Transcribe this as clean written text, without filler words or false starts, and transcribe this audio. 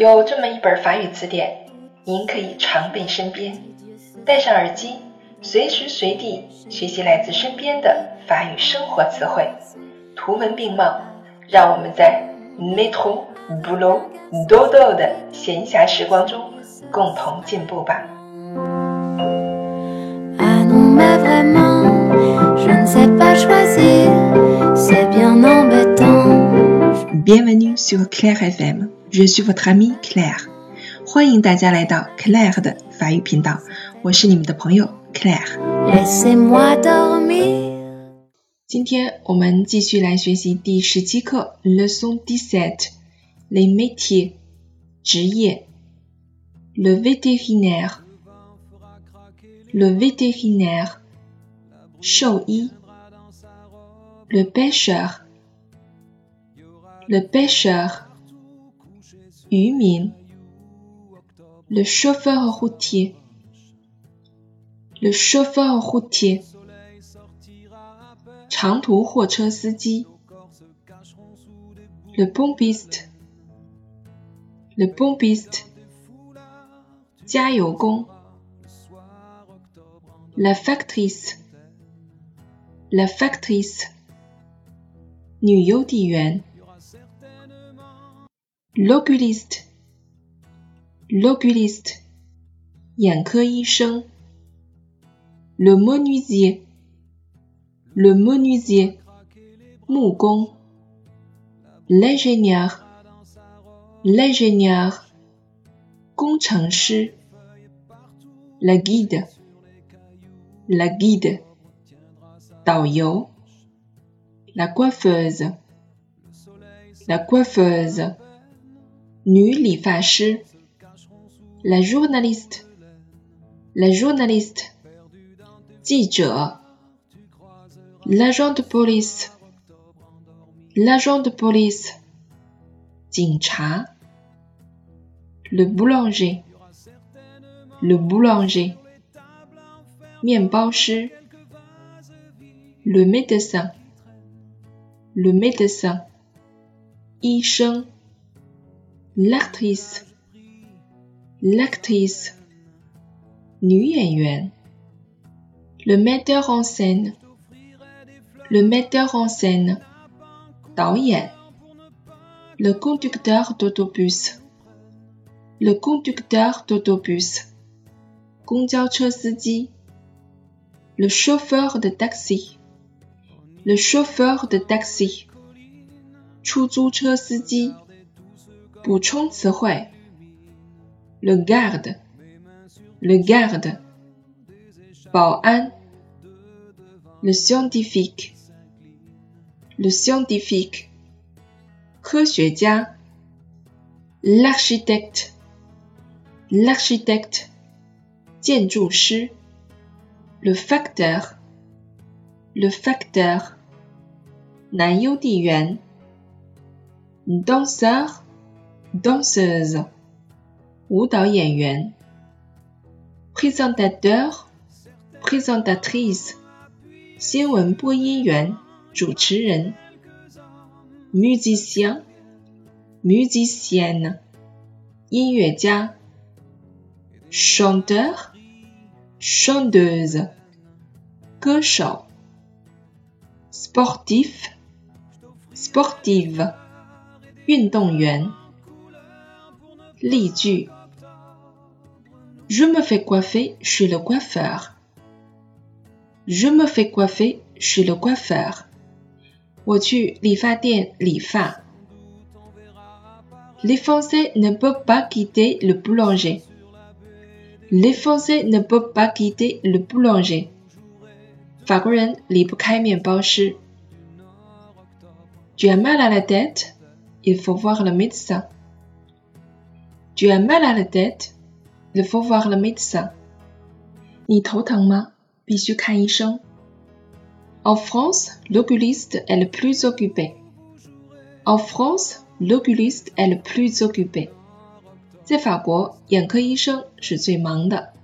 有这么一本法语词典，您可以常备身边，戴上耳机，随时随地学习来自身边的法语生活词汇，图文并茂，让我们在 métro, boulot, dodo 的闲暇时光中共同进步吧。 Bienvenue sur Claire FM, je suis votre amie Claire. 欢迎大家来到 Claire 的法语频道，我是你们的朋友 Claire。今天我们继续来学习第17课 Leçon 17 Les métiers 职业 Le vétérinaire 兽医 Le pêcheur 渔民 Le chauffeur routier 长途货车司机 Le pompiste 加油工 La factrice 女邮递员 L'oculiste 眼科医生 Le menuisier 木工 L'ingénieur 工程师 La guide 导游 La coiffeuse 女理发师 La journaliste 记者 L'agent de police 警察 Le boulanger 面包师 Le médecin 医生 L'actrice 女演员 Le metteur en scène 导演 Le conducteur d'autobus 公交车司机 Le chauffeur de taxi 出租车司机补充词汇 Le garde 保安 Le scientifique 科学家 L'architecte 建筑师 Le facteur 男邮递员 Danseur, danseuse 舞蹈演员 Présentateur, présentatrice 新闻播音员主持人 Musicien, musicienne 音乐家 Chanteur, chanteuse 歌手 Sportif, sportive 运动员例句 Je me fais coiffer chez le coiffeur 我去理发店理发 Les Français ne peuvent pas quitter le boulanger 法国人离不开面包师 Tu as mal à la tête? Il faut voir le médecin. Tu as mal à la tête? Il faut voir le médecin. 你头疼吗？必须看医生。En France, l'oculiste est le plus occupé. 在法国，眼科医生是最忙的。